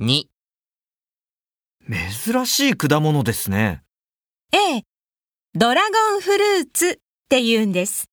2、 珍しい果物ですね。 ええ、ドラゴンフルーツって言うんです。